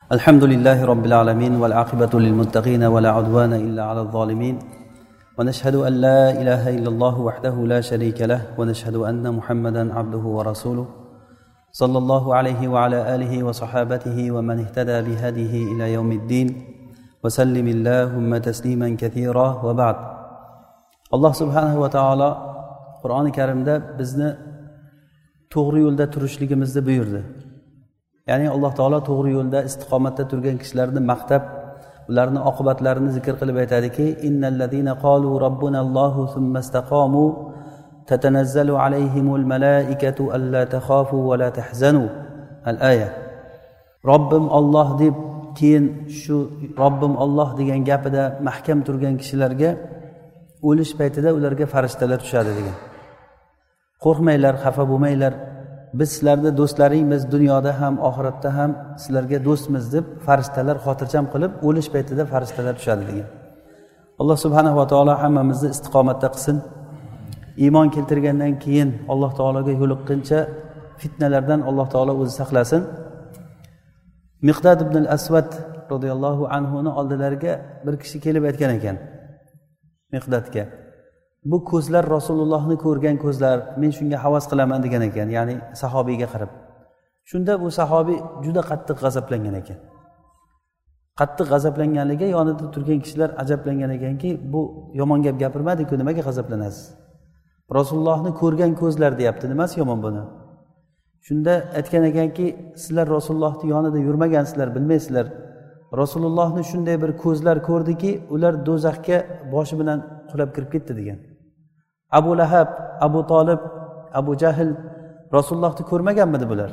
الحمد لله رب العالمين والعاقبة للمتقين ولا عدوان إلا على الظالمين ونشهد أن لا إله إلا الله وحده لا شريك له ونشهد أن محمدا عبده ورسوله صلى الله عليه وعلى آله وصحابته ومن اهتدى بهديه إلى يوم الدين وسلم اللهم تسليما كثيرا وبعد. الله سبحانه وتعالى قرآن الكريم ده بزنا to'g'ri yo'lda turishligimizni buyurdi. Ya'ni Alloh taolo to'g'ri yo'lda istiqomatda turgan kishilarni maqtab, ularning oqibatlarini zikr qilib aytadiki: "Innallazina qalu robbunallohu thumma istaqamu tatanazzalu alayhimul malaikatu alla takhafu va la tahzanu." Al-aya. Robbim Alloh deb keyin shu Robbim Alloh degan gapida mahkam turgan kishilarga o'lish paytida ularga farishtalar tushadi degan. Qo'rqmanglar, xafa bo'lmanglar. Biz sizlarni do'stlaringiz, dunyoda ham, oxiratda ham sizlarga do'stmiz deb farishtalar xotirjam qilib, o'lish paytida farishtalar tushadi degan. Alloh subhanahu va taolo hammamizni istiqomatda qilsin. Iymon keltirgandan keyin Alloh taologa yo'liqqancha fitnalardan Alloh taolo o'zi saqlasin. Miqdad ibn al-Aswad radhiyallohu anhu ning oldilariga bir kishi kelib aytgan ekan. Miqdadga: "Bu ko'zlar Rasulullohni ko'rgan ko'zlar, men shunga havas qilaman" degan ekan, ya'ni sahobiyga qarab. Shunda bu sahobiy juda qattiq g'azablangan ekan. Qattiq g'azablanganligiga yonida turgan kishilar ajablangan ekanki, bu yomon gap gapirmadi-ku, nimaga g'azablanasiz? Rasulullohni ko'rgan ko'zlar deyapti, nimasi yomon buni? Shunda aytgan ekanki, sizlar Rasulullohning yonida yurmagansizlar, bilmaysizlar. Rasulullohni shunday bir ko'zlar ko'rdiki, ular do'zaxga boshi bilan qulab kirib ketdi degan. Abu Lahab, Abu Talib, Abu Jahl Rasulullohni ko'rmaganmidi bular?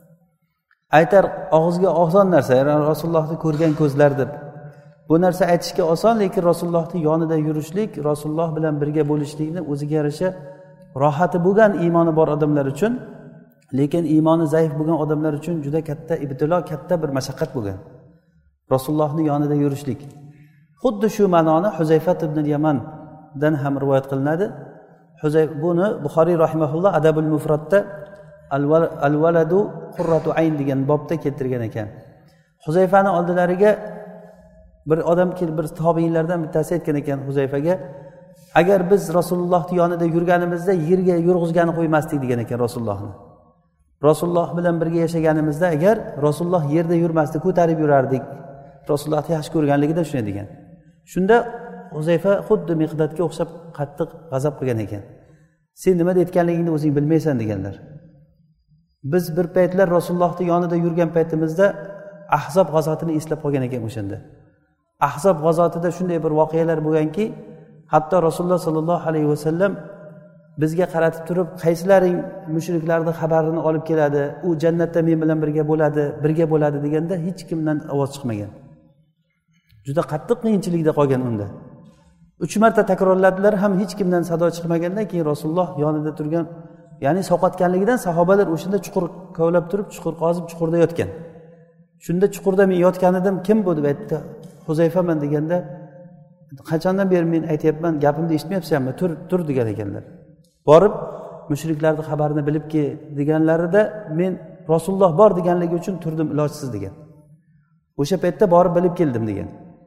Aytar og'izga oson narsa, Rasulullohni ko'rgan ko'zlar deb. Bu narsa aytishga oson, lekin Rasulullohning yonida yurishlik, Rasululloh bilan birga bo'lishlikni o'ziga yarasha rohati bo'lgan iymoni bor odamlar uchun, lekin iymoni zaif bo'lgan odamlar uchun juda katta ibtilo, katta bir mashaqqat bo'lgan. Rasulullohning yonida yurishlik. Xuddi shu ma'noni Huzayfa ibn Yamandan ham rivoyat qilinadi. Buni Buxoriy rahimahulloh Adabul Mufradda al-waladu qurratu ayn degan bobda keltirgan ekan. Huzayfaning oldilariga bir odam kelib, bir tobiinlardan bittasi aytgan ekan Huzayfaga: "Agar biz Rasulullohning yonida yurganimizda yerga yurg'izgani qo'ymasdik" degan ekan Rasulullohni. Rasululloh bilan birga yashaganimizda agar Rasululloh yerda yurmasdi, ko'tarib yurardik. Rasulullohni yaxshi ko'rganligida shunday degan. Shunda Huzayfa xuddi Miqdadga o'xshab qattiq g'azab qilgan ekan. "Sen nima deyotganligingni o'zing bilmaysan" deganlar. Biz bir paytlar Rasulullohning yonida yurgan paytimizda Ahzob g'azotini eslab qolgan ekan o'shanda. Ahzob g'azotida shunday bir voqealar bo'lganki, hatto Rasululloh sollallohu alayhi vasallam bizga qaratib turib, qaysilaring mushriklarning xabarini olib keladi, u jannatda men bilan birga bo'ladi deganda hech kimdan ovoz chiqmagan. Juda qattiq qiyinchilikda qolgan unda. 3 marta takrorladilar, ham hech kimdan sado chiqmagandan keyin Rasululloh yonida turgan, ya'ni sovqatganligidan sahobalar o'shanda chuqur kovlab turib, chuqur qozib chuqurda yotgan. Shunda chuqurda men yotgan edim, kim bu deb aytdi. Huzayfaman deganda, qachondan beri men aytayapman, gapimni eshitmayapsanmi? Tur degan ekanlar. Borib mushriklarning xabarini bilib ke deganlarida men Rasululloh bor deganligi uchun turdim ilojsiz degan. O'sha paytda borib bilib keldim degan.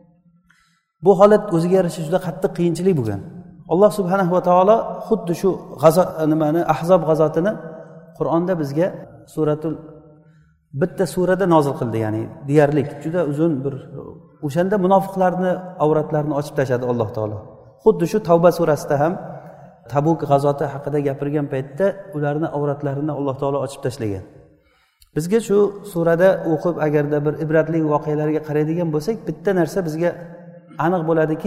Bu holat o'ziga yarasha juda qattiq qiyinchilik bo'lgan. Alloh subhanahu va taolo xuddi shu Ahzob g'azotini Qur'onda bizga bitta surada nozil qildi, ya'ni deyarli juda uzun bir, o'shanda munofiqlarni avratlarini ochib tashladi Alloh taolo. Xuddi shu Tavba surasida ham Tabuk g'azoti haqida gapirgan paytda ularning avratlarini Alloh taolo ochib tashlagan. Bizga shu surada o'qib agarda bir ibratli voqealarga qaraydigan bo'lsak, bitta narsa bizga aniq bo'ladiki,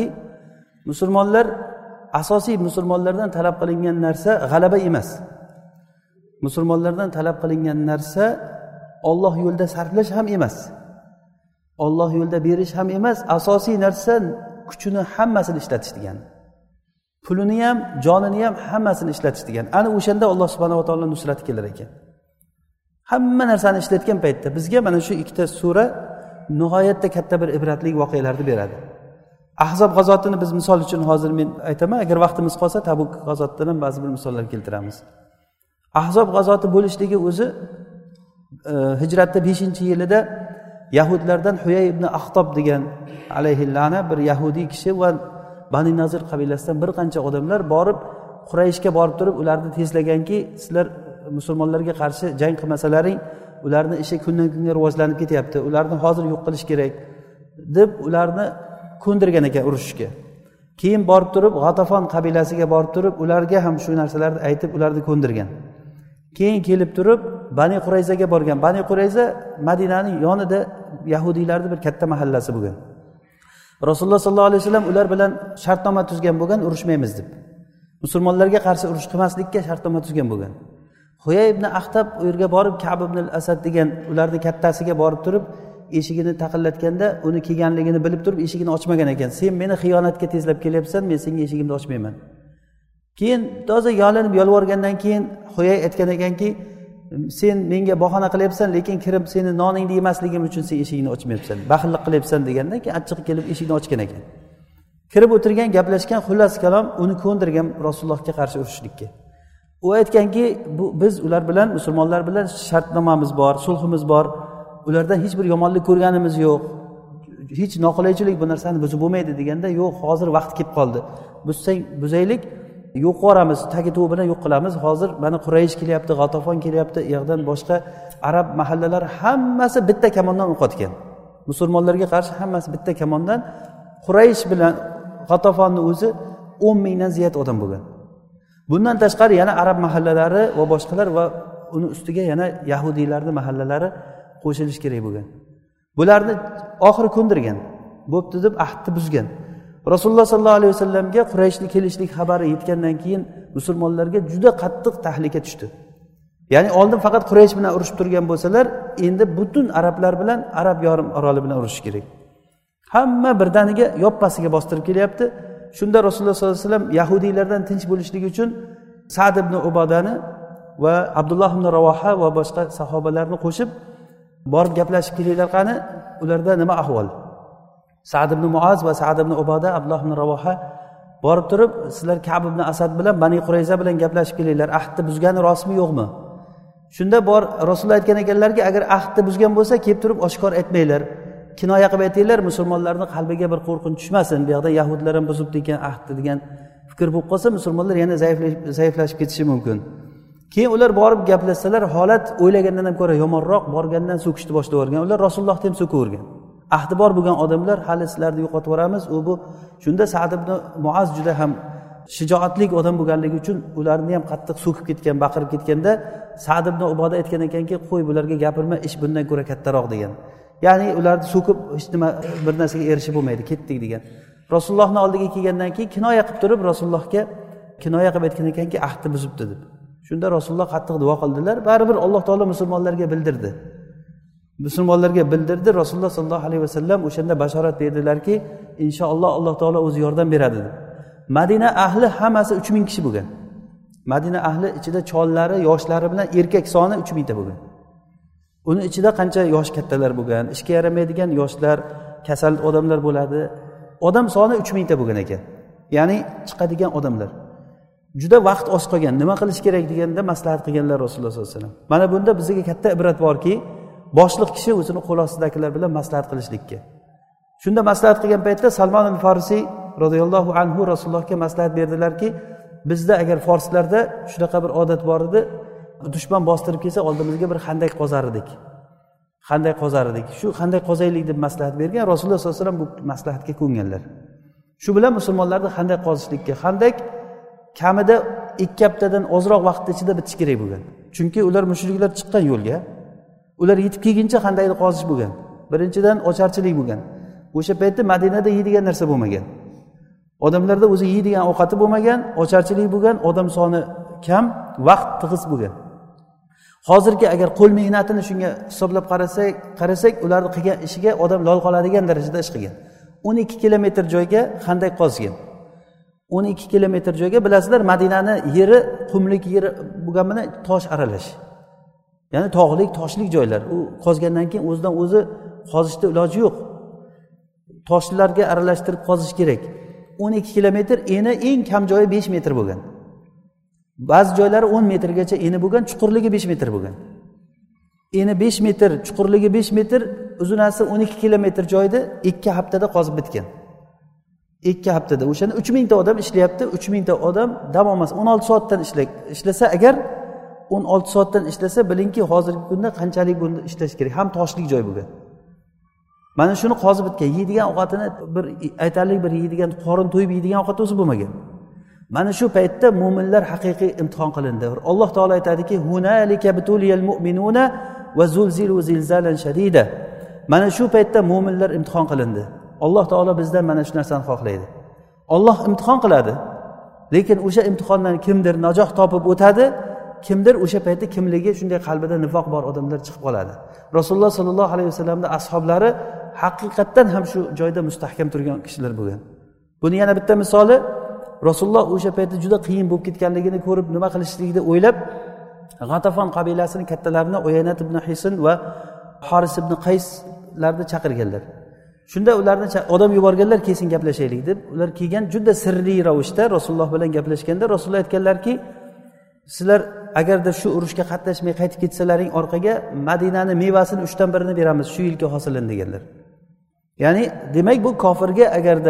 musulmonlardan talab qilingan narsa g'alaba emas. Musulmonlardan talab qilingan narsa Alloh yo'lida sarflash ham emas. Alloh yo'lida berish ham emas. Asosiy narsa kuchini hammasini ishlatish degan. Pulini ham, jonini ham hammasini ishlatish degan. Ana o'shanda Alloh subhanahu va taolo nusrati kelar ekan. Hamma narsani ishlatgan paytda bizga mana shu ikkita sura nihoyatda katta bir ibratli voqealarni beradi. Ahzob g'azotini biz misol uchun hozir men aytaman, agar vaqtimiz qolsa Tabuk g'azotidan ham ba'zi bir misollar keltiramiz. Ahzob g'azoti bo'lishligi o'zi hijratda 5-yilida yahudlardan Huyay ibn Axtob degan alayhi la'na bir yahudiy kishi va Bani Nazir qabilasidan bir qancha odamlar borib Qurayshga borib turib ularni tezlaganki, sizlar musulmonlarga qarshi jang qilmasalaring ularni ishi kundan kunga rivojlanib ketyapti, ularni hozir yo'q qilish kerak deb ularni ko'ndirgan ekan urushishga. Keyin borib turib G'atafon qabilasiga borib turib ularga ham shu narsalarni aytib ularni ko'ndirgan. Keyin kelib turib Bani Qurayzaga borgan. Bani Qurayza Madinaning yonida yahudiylarning bir katta mahallasi bo'lgan. Rasululloh sollallohu alayhi vasallam ular bilan shartnoma tuzgan bo'lgan, urushmaymiz deb. Musulmonlarga qarshi urush qilmaslikka shartnoma tuzgan bo'lgan. Huyay ibn Axtab u yerga borib Ka'b ibn al-Asad degan ularning kattasiga borib turib eshigini taqillatganda uni kelganligini bilib turib eshigini ochmagan ekan. Sen meni xiyonatga tezlab kelyapsan, men senga eshigimni ochmayman. Keyin toza yolinib yolvorgandan keyin Huyay aytgan ekanki, sen menga bahona qilyapsan, lekin kirib seni noningni yemasligim uchun sen eshigini ochmayapsan, baxillik qilyapsan degandan keyin achchiq kelib eshikni ochgan ekan. Kirib o'tirgan, gaplashgan, xullas kalom uni ko'ndirgan Rasulullohga qarshi urushlikka. U aytganki, biz ular bilan musulmonlar bilan shartnomamiz bor, sulhimiz bor. Ulardan hech bir yomonlik ko'rganimiz yo'q. Hech noqulaychilik bu narsani buzib bo'lmaydi deganda, yo'q, hozir vaqt kelib qoldi. Buzsang buzaylik, yo'q qilamiz, tagi tuv bilan yo'q qilamiz. Hozir mana Quraysh kelyapti, G'atafon kelyapti, u yoqdan boshqa arab mahallalar hammasi bitta kamondan o'q otgan. Musulmonlarga qarshi hammasi bitta kamondan. Quraysh bilan G'atafonni o'zi 10 mingdan ziyod odam bo'lgan. Bundan tashqari yana arab mahallalari va boshqalar va uni ustiga yana yahudiylarning mahallalari qo'shilish kerak bo'lgan. Bularni oxiri ko'ndirgan. Bo'pti deb ahdni buzgan. Rasululloh sollallohu alayhi vasallamga Qurayshning kelishlik xabari yetgandan keyin musulmonlarga juda qattiq tahlika tushdi. Ya'ni oldin faqat Quraysh bilan urushib turgan bo'lsalar, endi butun arablar bilan Arab yarim oroli bilan urushish kerak. Hamma birdaniga yoppasiga bostirib kelyapti. Shunda Rasululloh sollallohu alayhi vasallam yahudiylardan tinch bo'lishligi uchun Sa'd ibn Ubadani va Abdulloh ibn Ravoha va boshqa sahobalarni qo'shib borib gaplashib kelinglar qani, ularda nima ahvol? Sa'd ibn Muaz va Sa'd ibn Ubada, Abdulloh ibn Ravoha borib turib, sizlar Ka'b ibn Asad bilan Bani Qurayza bilan gaplashib kelinglar, ahdni buzgani rostmi yo'qmi? Shunda bor Rasululloh aytgan ekanlarki, agar ahdni buzgan bo'lsa, kelib turib oshkor aytmanglar. Kinoya qilib aytinglar, musulmonlarning qalbiga bir qo'rqinch tushmasin. Bu yerda yahudlar ham buzibdi ekan ahdni degan fikr bo'lib qolsa, musulmonlar yana zaiflashib ketishi mumkin. Keyin ular borib gaplashsalar, holat o'ylagandan ham ko'ra yomonroq, borgandan so'kishni boshlab o'rgan. Ular Rasulullohni ham so'kavergan. Ahdi bor bo'lgan odamlar hali sizlarni yo'qotib yuboramiz. Bu shunda Sa'd ibn Muaz juda ham shijoatli odam bo'lganligi uchun ularni ham qattiq so'kib ketgan, baqirib ketganda Sa'd ibn Uboda aytgan ekanki, qo'y bularga gapirma, ish bundan ko'ra kattaroq degan. Ya'ni ularni so'kib hech nima bir narsaga erishib bo'lmaydi, ketdik degan. Rasulullohning oldiga kelgandan keyin kinoya qilib turib Rasulullohga kinoya qilib aytgan ekanki, ahdni buzibdi deb. Shunda Rasululloh qattiq duo qildilar. Baribir Alloh taolo musulmonlarga bildirdi. Rasululloh sollallohu alayhi vasallam o'shanda bashorat berdilarki, inshaalloh Alloh taolo o'zi yordam beradi deb. Madina ahli hammasi 3000 kishi bo'lgan. Madina ahli ichida chollari, yoshlari bilan erkak soni 3000 ta bo'lgan. Uni ichida qancha yosh kattalar bo'lgan, ishga yaramaydigan yoshlar, kasal odamlar bo'ladi. Odam soni 3000 ta bo'lgan ekan. Ya'ni chiqadigan odamlar. Juda vaqt oz qolgan. Nima qilish kerak deganda maslahat qilganlar Rasululloh sollallohu alayhi vasallam. Mana bunda bizga katta ibrat borki, boshliq kishi o'zini qo'l ostidagilar bilan maslahat qilishlikka. Shunda maslahat qilgan paytda Salmon al-Farisi radhiyallohu anhu Rasulullohga maslahat berdilarki, bizda agar forslarda shunaqa bir odat bor edi, dushman bostirib kelsa oldimizga bir xandak qozar edik. Shu xandak qozaylik deb maslahat bergan. Rasululloh sollallohu alayhi vasallam bu maslahatga ko'nganlar. Shu bilan musulmonlarni xandak qozishlikka, xandak kamida 2 haftadan ozroq vaqt ichida bitish kerak bo'lgan. Chunki ular mushriklar chiqqan yo'lga, ular yetib kelguncha xandakni qozish bo'lgan. Birinchidan ocharchilik bo'lgan. O'sha paytda Madinada yeydigan narsa bo'lmagan. Odamlarda o'zi yeydigan ovqati bo'lmagan, ocharchilik bo'lgan, odam soni kam, vaqt tig'iz bo'lgan. Hozirgi agar qo'l mehnatini shunga hisoblab qarasak, ularning qilgan ishiga odam lol qoladigan darajada ish qilgan. 12 kilometr joyga xandak qozgan. 12 kilometr joyga, bilasizlar, Madinani yeri qumlik yeri bo'lgan bilan tosh aralash. Ya'ni tog'lik, toshlik joylar. U qozgandan keyin o'zidan o'zi qozishda iloji yo'q. Toshlarga aralashtirib qozish kerak. 12 kilometr, eni eng kam joyi 5 metr bo'lgan. Ba'zi joylari 10 metrgacha eni bo'lgan, chuqurligi 5 metr bo'lgan. eni 5 metr, chuqurligi 5 metr, uzunasi 12 kilometr joyda 2 haftada qozib bitgan. 2 haftada. O'shanda 3000 ta odam ishlayapti. 3000 ta odam dam olmas 16 soatdan ishlasa agar 16 soatdan ishlasa, bilingki, hozirgi kunda qanchalik bunda ishlash kerak. Ham toshlik joy bo'lgan. Mana shuni qozib bitgan. Yeydigan ovqatini bir aytarlik bir yeydigan, qorin to'yib yeydigan ovqat o'zi bo'lmagan. Mana shu paytda mu'minlar haqiqiy imtihon qilindi. Alloh taolo aytadiki: "Hunalika butuliyal mu'minuna va zulzilu zilzalan shadida." Mana shu paytda mu'minlar imtihon qilindi. Alloh taolo bizdan mana shu narsani xohlaydi. Alloh imtihon qiladi. Lekin o'sha imtihondan kimdir najoh topib o'tadi, kimdir o'sha paytda kimligi shunday qalbida nifoq bor odamlar chiqib qoladi. Rasululloh sollallohu alayhi vasallamning ashablari haqiqatdan ham shu joyda mustahkam turgan kishilar bo'lgan. Buni yana bitta misoli, Rasululloh o'sha paytda juda qiyin bo'lib ketganligini ko'rib, nima qilishligini o'ylab, G'atafon qabilasining kattalarini Uyaynat ibn Hisn va Haris ibn Qayslarni chaqirganlar. Shunda ularni odam yuborganlar, kesin gaplashaylik deb. Ular kelgan, juda sirli ravishda Rasululloh bilan gaplashganda Rasululloh aytganlarki, sizlar agarda shu urushga qatnashmay qaytib ketsalaring orqaga Madinani mevasini 3dan 1ni beramiz, shu yilgi hosilini deganlar. Ya'ni demak bu kofirga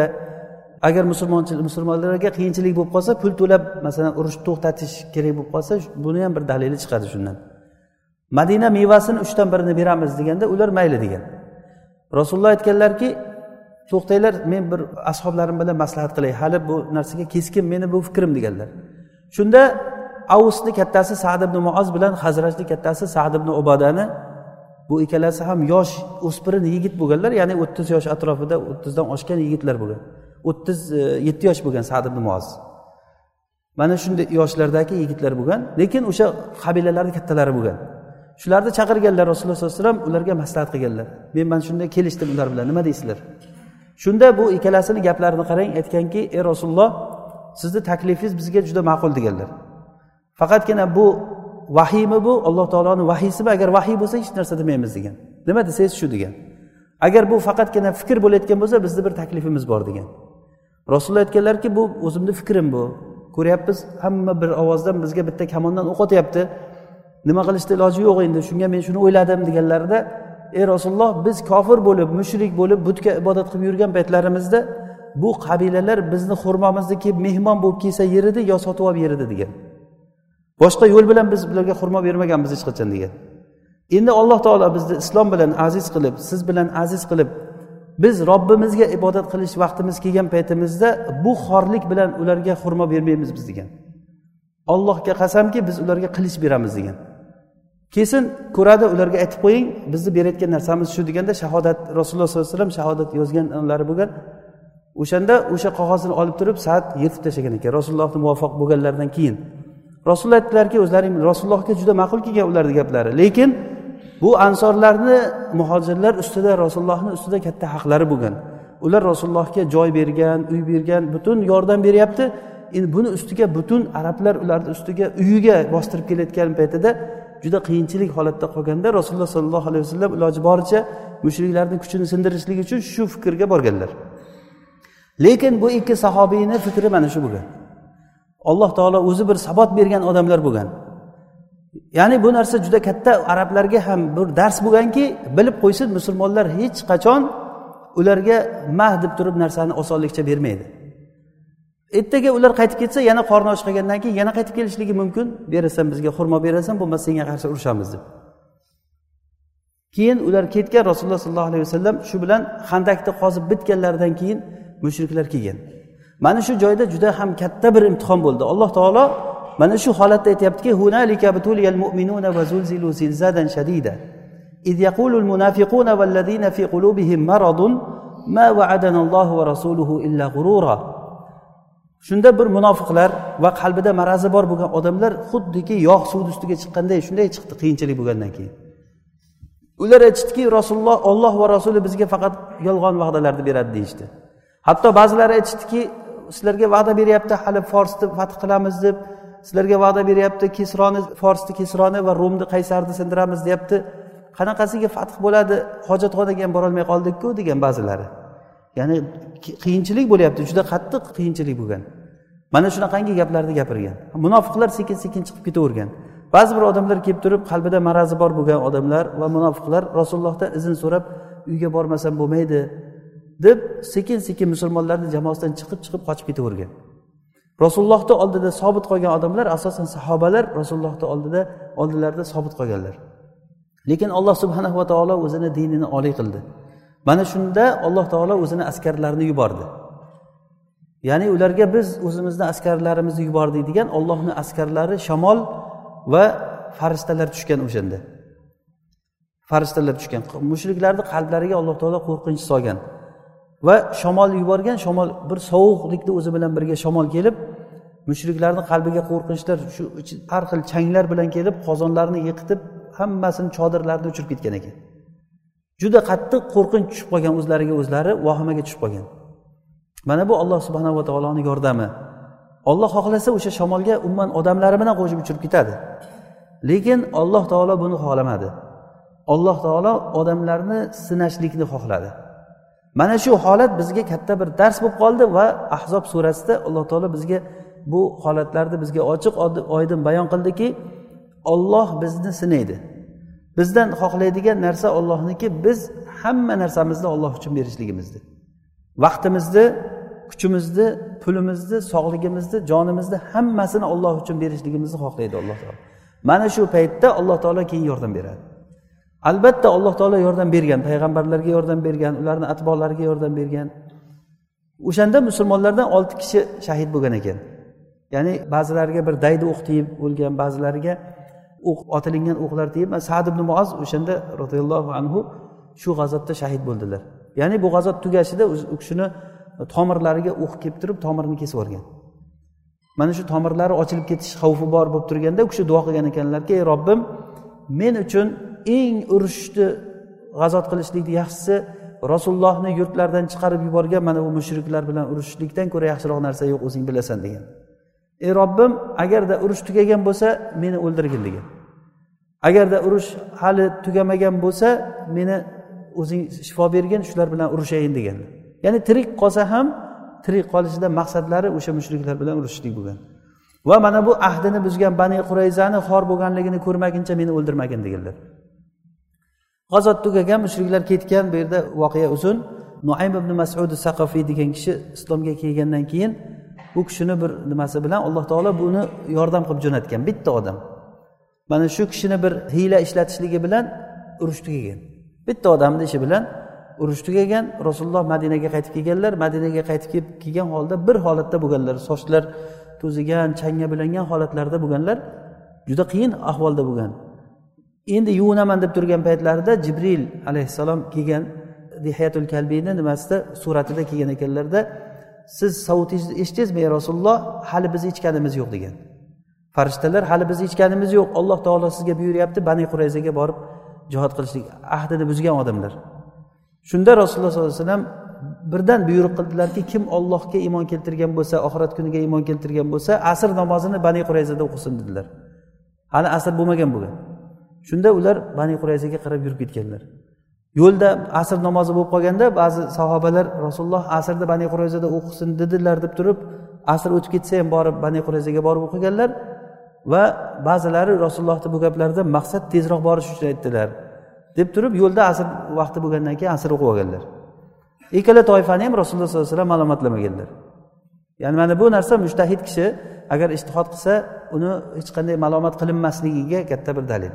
agar musulmonlarga qiyinchilik bo'lib qolsa, pul to'lab masalan urush to'xtatish kerak bo'lib qolsa, buni ham bir dalili chiqadi shundan. Madina mevasini 3dan 1ni beramiz deganda ular mayli degan. Rasululloh aytganlarki, to'xtanglar, men bir ashoblarim bilan maslahat qilay, hali bu narsaga keskin meni bu fikrim deganlar. Shunda Avsning kattasi Sa'd ibn Muoz bilan Hazrajning kattasi Sa'd ibn Ubadani, bu ikkalasi ham yosh o'spirin yigit bo'lganlar, ya'ni 30 yosh atrofida, 30 dan oshgan yigitlar bo'lgan. 37 yosh bo'lgan Sa'd ibn Muoz. Mana shunday yoshlardagi yigitlar bo'lgan, lekin o'sha qabilalarning kattalari bo'lgan. Shularni chaqirganlar Rasululloh sollallohu alayhi vasallam, ularga maslahat qilganlar. Men shunday kelishdim ular bilan, nima deysizlar? Shunda bu ikkalasining gaplarini qarang, aytganki: "Ey Rasululloh, sizning taklifingiz bizga juda ma'qul" deganlar. Faqatgina bu vahiymi, bu Alloh taoloning vahiysimi? Agar vahiy bo'lsa hech narsa demaymiz degan. Nima desangiz shu degan. Agar bu faqatgina fikr bo'layotgan bo'lsa, bizning bir taklifimiz bor degan. Rasululloh aytganlarki, bu o'zimning fikrim bu. Ko'ryapmiz, hamma bir ovozdan bizga bitta kamondan o'q otyapti. Nima qilishda iloji yo'q endi. Shunga men shuni o'yladim deganlarida, ey Rasululloh, biz kofir bo'lib, mushrik bo'lib, butga ibodat qilib yurgan paytlarimizda bu qabilalar bizni xurmomizni kelib mehmon bo'lib kelsa yeridi yo sotib olib yeridi degan. Boshqa yo'l bilan biz ularga xurmo bermaganmiz hech qachon degan. Endi Alloh taolo bizni islom bilan aziz qilib, siz bilan aziz qilib, biz Robbimizga ibodat qilish vaqtimiz kelgan paytimizda bu xorlik bilan ularga xurmo bermaymiz biz degan. Allohga qasamki, biz ularga qilich beramiz degan. Kesin ko'radi, ularga aytib qo'ying, bizni berayotgan narsamiz shu deganda shahodat, Rasululloh sollallohu alayhi vasallam shahodat yozganlari bo'lgan. O'shanda o'sha qog'ozni olib turib saat yirtib tashlagan ekan, Rasulullohga muvofiq bo'lganlardan keyin. Rasululloh aytdilarki, o'zlaring Rasulullohga juda ma'qul kelgan ularning gaplari. Lekin bu ansorlarni, muhojirlar ustida, Rasulullohning ustida katta haqlari bo'lgan. Ular Rasulullohga joy bergan, uy bergan, butun yordam beryapti. Endi buni ustiga butun arablar ularning ustiga uyiga bostirib kelayotgan paytida juda qiyinchilik holatda qolganda Rasululloh sollallohu alayhi vasallam iloji boricha mushriklarning kuchini sindirishlik uchun shu fikrga borganlar. Lekin bu ikki sahobiyning fikri mana shu bo'lgan. Alloh taolo o'zi bir sabot bergan odamlar bo'lgan. Ya'ni bu narsa juda katta arablarga ham bir dars bo'lganki, bilib qo'ysin, musulmonlar hech qachon ularga mah deb turib narsani osonlikcha bermaydi. Ertaga ular qaytib ketsa, yana qorni och qolgandan keyin yana qaytib kelishligi mumkin. Berasan bizga xurmo berasan, bo'lmasa senga qarshi urushamiz deb. Keyin ular ketgan, Rasululloh sollallohu alayhi vasallam shu bilan Xandaqni qozib bitganlaridan keyin mushriklar kelgan. Mana shu joyda juda ham katta bir imtihon bo'ldi. Alloh taolo mana shu holatda aytayaptiki: "Hunalika butuliyal mu'minuna va zulzilu zilzadan shadida. Id yaqulul munafiquna wal ladina fi qulubihim maradun ma wa'adana Allohu va rasuluhu illa ghurura." Shunda bir munofiqlar va qalbida marazi bor bo'lgan odamlar xuddiki yog' suv ustiga chiqqanday shunday chiqdi qiyinchilik bo'lgandan keyin. Ular aytishdiki, Rasululloh, Alloh va rasuli bizga faqat yolg'on va'dalarni beradi deyishdi. Hatto ba'zilari aytishdiki, sizlarga va'da beryapti, hali Forsni fath qilamiz deb, sizlarga va'da beryapti, Forsni Kisroni va Rumni Qaysarni sindiramiz deyapti. Qanaqasiga fath bo'ladi? Hojatxonaga ham bora olmay qoldik-ku degan ba'zilari. Ya'ni qiyinchilik bo'lyapti, juda qattiq qiyinchilik bo'lgan. Mana shunaqangi gaplarni gapirgan. Munofiqlar sekin-sekin chiqib ketavergan. ba'zi bir odamlar kelib turib qalbida marazi bor bo'lgan odamlar va munofiqlar Rasulullohdan izn so'rab uyga bormasam bo'lmaydi deb sekin sekin musulmonlarning jamoasidan chiqib qochib ketavergan. Rasulullohning oldida sobit qolgan odamlar asosan sahobalar Rasulullohning oldilarida sobit qolganlar. Lekin Alloh subhanahu va taolo o'zini dinini oliy qildi. Mana shunda Alloh taolo o'zini askarlarini yubordi. Ya'ni ularga biz o'zimizning askarlarimizni yubordik degan Allohning askarlari shamol va farishtalar tushgan o'shanda. Farishtalar tushgan. Mushriklarning qalblariga Alloh taolo qo'rqinch solgan. Va shamol yuborgan, shamol bir sovuqlikni o'zi bilan birga shamol kelib, mushriklarning qalbiga qo'rqinchlar shu har xil changlar bilan kelib, qozonlarni yiqitib, hammasini chodirlarni uchirib ketgan ekan. Juda qattiq qo'rqinch tushib qolgan o'zlariga o'zlari vahimaga tushib qolgan. Mana bu Alloh subhanahu va taoloning yordami. Alloh xohlasa o'sha shamolga umuman odamlari bilan qo'shib uchirib ketadi. Lekin Alloh taolo buni xohlamadi. Alloh taolo odamlarni sinashlikni xohladi. Mana shu holat bizga katta bir dars bo'lib qoldi va Ahzob surasida Alloh taolo bizga bu holatlarni bizga ochiq oydin bayon qildiki, Alloh bizni sinaydi. Bizdan xohlaydigan narsa Allohniki, biz hamma narsamizni Alloh uchun berishligimizni. Vaqtimizni, kuchimizni, pulimizni, sog'ligimizni, jonimizni hammasini Alloh uchun berishligimizni xohlaydi Alloh taolo. Mana shu paytda Alloh taolo keyin yordam beradi. Albatta Alloh taolo yordam bergan, payg'ambarlarga yordam bergan, ularning atbolariga yordam bergan. O'shanda musulmonlardan 6 kishi shahid bo'lgan ekan. Ya'ni ba'zilariga bir daydi o'q tegib o'lgan, ba'zilariga o'q otilingan o'qlar tegib, Sa'd ibn Muoz o'shanda radhiyallohu anhu shu g'azotda shahid bo'ldilar. Ya'ni bu g'azot tugashida u kishini tomirlariga o'q kelib turib, tomirini kesib yuborgan. Mana shu tomirlari ochilib ketish xavfi bor bo'lib turganda u kishi duo qilgan ekanlarki, "Ey Robbim, men uchun eng urushni g'azot qilishlikni yaxshisi Rasulullohni yurtlardan chiqarib yuborgan mana bu mushriklar bilan urushishlikdan ko'ra yaxshiroq narsa yo'q, o'zing bilasan" degan. "Ey Robbim, agarda urush tugagan bo'lsa, meni o'ldirgin" degan. "Agarda urush hali tugamagan bo'lsa, meni o'zing shifo bergin, shular bilan urushayin" degan. Ya'ni tirik qolsa ham tirik qolishidan maqsadlari o'sha mushriklar bilan urushishlik bo'lgan. Va mana bu ahdini buzgan Bani Qurayzani xor bo'lganligini ko'rmaguncha meni o'ldirmagin deganlar. G'azot tugagan, mushriklar ketgan, bu yerda voqea uzun. Nuaym ibn Mas'ud as-Saqafiy degan kishi islomga kelgandan keyin bu kishini bir nimasi bilan Alloh taolo buni yordam qilib jo'natgan, bitta odam. Mana shu kishini bir hiyla ishlatishligi bilan urush tugagan. Bitta odamning ishi bilan urush tugagan. Rasululloh Madinaga qaytib kelganlar. Madinaga qaytib kelgan holda bir holatda bo'lganlar. Sochlar to'zigan, changga bilangan holatlarda bo'lganlar. Juda qiyin ahvolda bo'lgan. Endi yuvinaman deb turgan paytlarida Jibril alayhissalom kelgan, Dihiyatul Kalbiyni nimasida suratida kelgan ekanlarda, "Siz savutingizni eshitdingizmi ey Rasululloh? Hali biz ichganimiz yo'q" degan. Farishtalar, "Hali biz ichganimiz yo'q. Alloh taolo sizga buyuryapti, Bani Qurayzaga borib jihad qilishlik." Ahdini buzgan odamlar. Shunda Rasululloh sollallohu alayhi vasallam birdan buyruq qildilarki, kim Allohga iymon keltirgan bo'lsa, oxirat kuniga iymon keltirgan bo'lsa, asr namozini Bani Qurayzada o'qisin dedilar. Hali asr bo'lmagan bo'lgan. Shunda ular Bani Qurayzaga qarab yurib ketganlar. Yo'lda asr namozi bo'lib qolganda ba'zi sahobalar Rasululloh asrda Bani Qurayzada o'qisin dedilar deb turib, asr o'tib ketsa ham borib Bani Qurayzaga borib o'qiganlar va ba'zilari Rasulullohning bu gaplarida maqsad tezroq borish uchun aytdilar deb turib, yo'lda asr vaqti bo'lgandan keyin asr o'qib olganlar. Ikkala toifani ham Rasululloh sollallohu alayhi vasallam ma'lumotlamaganlar. Ya'ni mana bu narsa mujtahid kishi agar ijtihod qilsa, uni hech qanday ma'lumot qilinmasligiga katta bir dalil.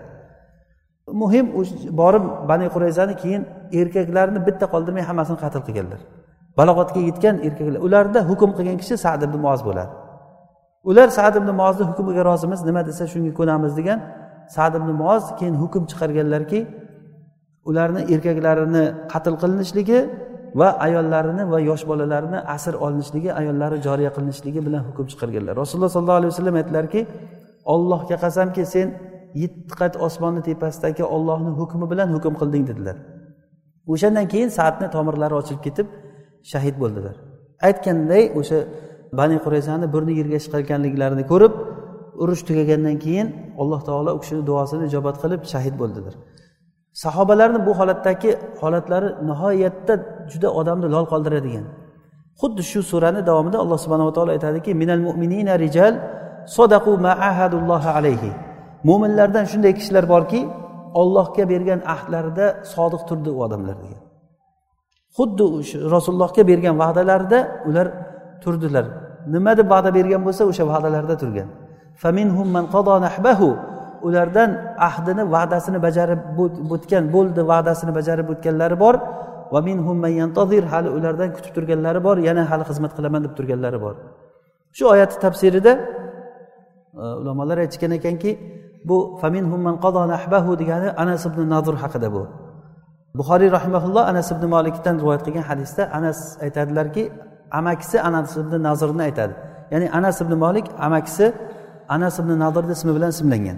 Muhim borib Bani Qurayzani keyin erkaklarni bitta qoldirmay hammasini qatl qilganlar. Balog'atga yetgan erkaklar. Ularda hukm qilgan kishi Sa'd ibn Muoz bo'ladi. Ular Sa'd ibn Muozning hukmiga rozimiz, nima desa shunga ko'namiz degan. Sa'd ibn Muoz keyin hukm chiqarganlarki, ularni erkaklarini qatl qilinishligi va ayollarini va yosh bolalarini asir olinishligi, ayollari joriya qilinishligi bilan hukm chiqarganlar. Rasululloh sollallohu alayhi vasallam aytdilarki, "Allohga qasamki, sen 7 qat osmonni tepasidagi Allohning hukmi bilan hukm qilding" dedilar. O'shandan keyin Sa'dning tomirlari ochilib ketib shahid bo'ldilar. Aytganday, o'sha Bani Qurayzani burni yerga chiqarganliklarini ko'rib, urush tugagandan keyin Alloh taolo u kishining duosini ijobat qilib shahid bo'ldilar. Sahobalarning bu holatdagi holatlari nihoyatda juda odamni lol qoldiradigan. Xuddi shu suraning davomida Alloh subhanahu va taolo aytadiki, "Minal mu'minina rijal sadaqu ma ahadullohi alayhi." Mo'minlardan shunday kishilar borki, Allohga bergan ahdlarida sodiq turdi u odamlar degan. Xuddi Rasulullohga bergan va'dalarida ular turdilar. Nima deb va'da bergan bo'lsa, o'sha va'dalarda turgan. Faminhum man qada nahbahu, ulardan ahdini, va'dasini bajarib o'tgan, bo'ldi, va'dasini bajarib o'tganlari bor. Va minhum man yantazir, hali ulardan kutib turganlari bor, yana hali xizmat qilaman deb turganlari bor. Shu oyat tafsirida ulamolar aytgan ekanki, bu faminhum man qada nahbahu degani Anas ibn Nazir haqida bu. Buxoriy rahimahulloh Anas ibn Malikdan rivoyat qilgan hadisda Anas aytadilarki, amakisi Anas ibn Nazirni aytadi. Ya'ni Anas ibn Malik amakisi Anas ibn Nazirning ismi bilan ismlangan.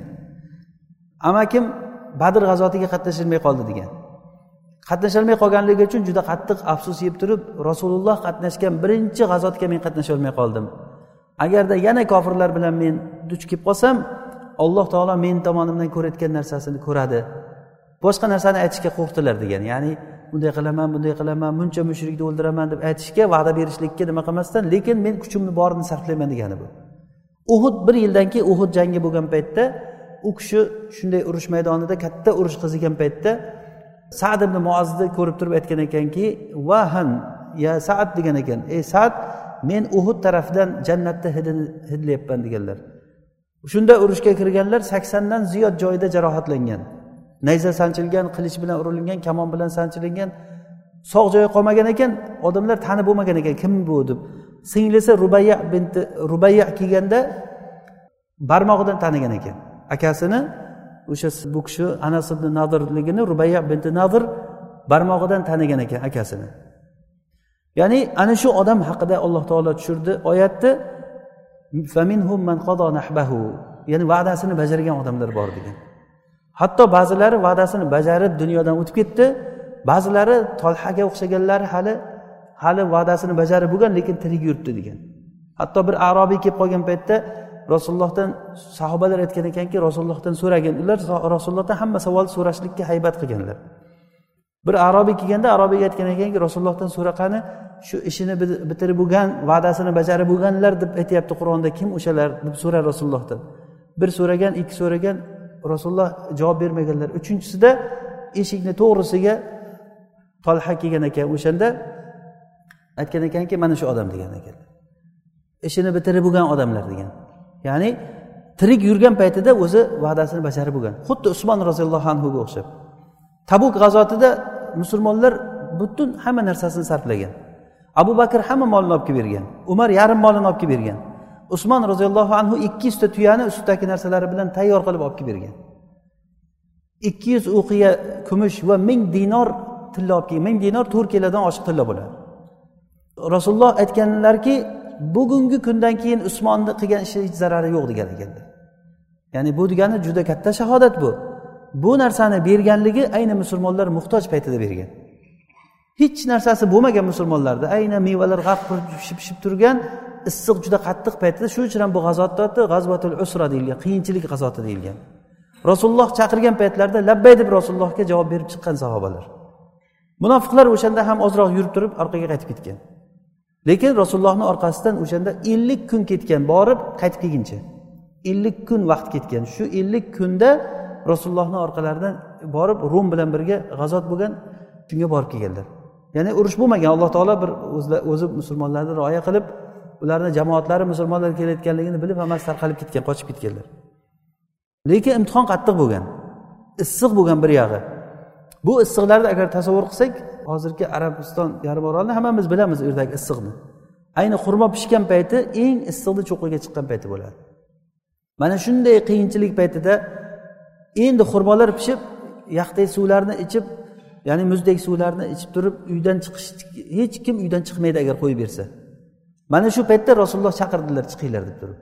Amakim Badr g'azotiga qatnashilmay qoldi degan. Qatnasholmay qolganligi uchun juda qattiq afsus yeb turib, Rasululloh qatnashgan birinchi g'azotga men qatnasholmay qoldim. Agarda yana kofirlar bilan men duch kelib qolsam, Alloh taolo men tomonimdan ko'rayotgan narsasini ko'radi. Boshqa narsani aytishga qo'rqdilar degan. Ya'ni bunday qilaman, muncha mushrikni o'ldiraman deb aytishga, va'da berishlikka nima qilmasdan, lekin men kuchimni borini sarflayman degani bu. Uhud bir yildan keyin Uhud jangi bo'lgan paytda u kishi shunday urush maydonida katta urush qizigan paytda Sa'd ibn Mu'ozzni ko'rib turib aytgan ekanki, "Vahan ya Sa'd" degan ekan. "Ey Sa'd, men Uhud tarafidan jannatda hidlayapman" deganlar. Shunda urushga kirganlar 80 dan ziyod joyida jarohatlangan. Nayza sanchilgan, qilich bilan urilgan, kamon bilan sanchilingan, sog' joyi qolmagan ekan, odamlar tanib bo'lmagan ekan, kim bu deb. Singlisi Rubayya kelganda barmog'idan tanigan ekan. Akasini o'sha bu kishi Anas ibn Nadirligini Rubayya bint Nadir barmog'idan tanigan ekan akasini. Ya'ni ana shu odam haqida Alloh taolo tushirdi oyatni, faminhum man qada nahbahu, ya'ni va'dasini bajargan odamlar bor degan. Hatto ba'zilari va'dasini bajarib dunyodan o'tib ketdi, ba'zilari Tolhaga o'xshaganlari hali va'dasini bajarib bo'lgan, lekin tirik yuribdi degan. Hatto bir Arobiy kelib qolgan paytda Rasulullohdan sahobalar aytgan ekanki, Rasulullohdan so'ragan. Ular Rasulullohdan hamma savol so'rashlikka haybat qilganlar. Bir Arobiy kelganda Arobiyga aytgan ekanki, Rasulullohdan so'raqani shu ishini bitirib bo'lgan, va'dasini bajarib bo'lganlar deb aytayapti Qur'onda, kim o'shalar deb so'rar Rasulullohdan. Bir so'ragan, ikki so'ragan, Rasululloh javob bermaganlar. Uchinchisida eshikni to'g'risiga Talha kelgan ekan, o'shanda aytgan ekanki, mana shu odam degan ekan. Ishini bitirib bo'lgan odamlar degan. Ya'ni tirik yurgan paytida o'zi va'dasini bajarib bo'lgan. Xuddi Usmon roziyallohu anhu ga o'xshab. Tabuk g'azotida musulmonlar butun hamma narsasini sarflagan. Abu Bakr hamma molini olib kelib bergan. Umar yarim molini olib kelib bergan. Usmon roziyallohu anhu 200 ta tuyani ustidagi narsalari bilan tayyor qilib olib kelib bergan. 200 uqiya kumush va 1000 dinor tilla olib kelgan. 1000 dinor 4 kilodan oshiq tilla bo'ladi. Rasululloh aytganlarki, bugungi kundan keyin Usmonni qilgan ishi hech zarari yo'q degan ekanlar. Ya'ni bu degani juda katta shahodat bu. Bu narsani berganligi ayni musulmonlar muhtoj paytida bergan. Hech narsasi bo'lmagan musulmonlarda, ayni mevalar g'arq pishib turgan, issiq juda qattiq paytida, shuning uchun ham bu g'azotda G'azvatul Usra deyilgan, qiyinchilik g'azoti deyilgan. Rasululloh chaqirgan paytlarda labbay deb Rasulullohga javob berib chiqqan sahobalar. Munofiqlar o'shanda ham ozroq yurib turib orqaga qaytib ketgan. Lekin Rasulullohning orqasidan o'shanda 50 kun ketgan, borib qaytib kelguncha. 50 kun vaqt ketgan. Shu 50 kunda Rasulullohning orqalaridan borib Rum bilan birga g'azot bo'lgan, shunga borib kelganlar. Ya'ni urush bo'lmagan, Alloh taolo bir o'zi musulmonlarni rioya qilib, ularning jamoatlari musulmonlar kelayotganligini bilib hammasi tarqalib ketgan, qochib ketganlar. Lekin imtihon qattiq bo'lgan. Issiq bo'lgan bir yog'i. Bu issiqlarni agar tasavvur qilsak, hozirgi Arabiston yarim orolini hammamiz bilamiz, u yerdagi issiqni. Ayni xurmo pishgan payti eng issiqni cho'qqiga chiqqan payti bo'ladi. Mana shunday qiyinchilik paytida endi xurmolar pishib, yaqdek suvlarni ichib, ya'ni muzdek suvlarni ichib turib, uydan chiqish, hech kim uydan chiqmaydi agar qo'yib bersa. Mana shu paytda Rasululloh chaqirdilar, chiqinglar deb turib.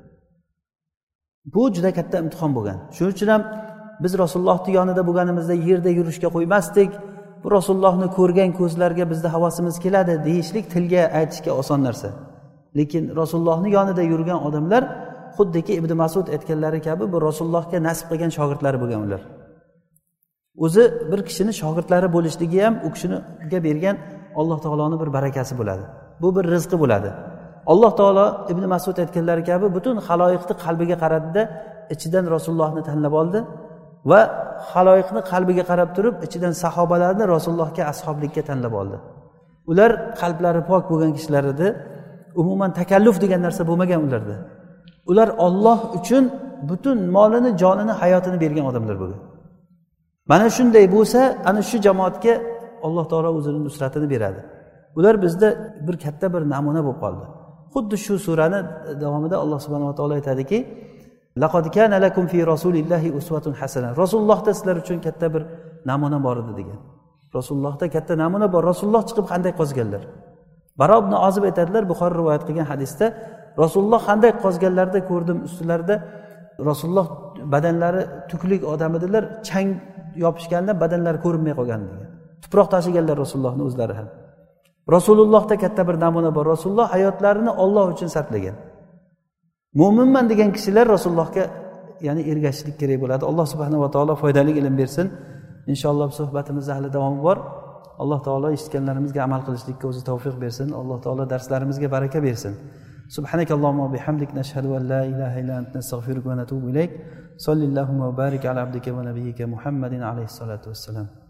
Bu juda katta imtihon bo'lgan. Shuning uchun ham biz Rasulullohning yonida bo'lganimizda yerda yurishga qo'ymasdik. Bu Rasulullohni ko'rgan ko'zlarga bizda havasimiz keladi deyishlik tilga aytishga oson narsa. Lekin Rasulullohning yonida yurgan odamlar xuddiki Ibn Mas'ud aytganlari kabi bu Rasulullohga nasib qilgan shogirdlari bo'lgan ular. O'zi bir kishini shogirdlari bo'lishligi ham u kishiga bergan Alloh taoloning bir barakasi bo'ladi. Bu bir rizqi bo'ladi. Alloh taolo Ibn Mas'ud aytganlari kabi butun xaloyiqning qalbiga qaradida, ichidan Rasulullohni tanlab oldi va xaloyiqni qalbiga qarab turib ichidan sahobalarni Rasulullohga ashoblikka tanlab oldi. Ular qalblari pok bo'lgan kishilar edi. Umuman takalluf degan narsa bo'lmagan ularda. Ular Alloh uchun butun molini, jonini, hayotini bergan odamlar bo'lgan. Mana shunday bo'lsa, ana shu jamoatga Alloh taolo o'zining nusratini beradi. Ular bizda bir katta bir namuna bo'lib qoldi. Xuddi shu surani davomida Alloh subhanahu va taolo aytadiki: "Laqad kana lakum fi rasulillahi uswatun hasana." Rasulullohda sizlar uchun katta bir namuna bor edi degan. Rasulullohda katta namuna bor. Rasululloh chiqib qanday qozganlar? Baro ibn Ozib aytadilar, Buxoriy rivoyat qilgan hadisda, Rasululloh qanday qozganlarda ko'rdim, ustilarida Rasululloh badanlari tuklik odam edilar, chang yopishganda badanlari ko'rinmay qolgan degan. Tuproq tashiganlar Rasulullohning o'zlari ham. Rasulullohda katta bir namuna bor. Rasululloh hayotlarini Alloh uchun sarflagan. Mo'minman degan kishilar Rasulullohga ya'ni ergashishlik kerak bo'ladi. Alloh subhanahu va taolo foydali ilm bersin. Inshaalloh suhbatimizda hali davom bor. Alloh taolo eshitganlarimizga amal qilishlikka o'zi tavfiq bersin. Alloh taolo darslarimizga baraka bersin. Subhanakallohumma va bihamdik nashhadu an la ilaha illa anta nastaghfiruka va natubu ilayk. Sallallohu va barik ala abdika va nabiyyika Muhammadin alayhi salatu wassalam.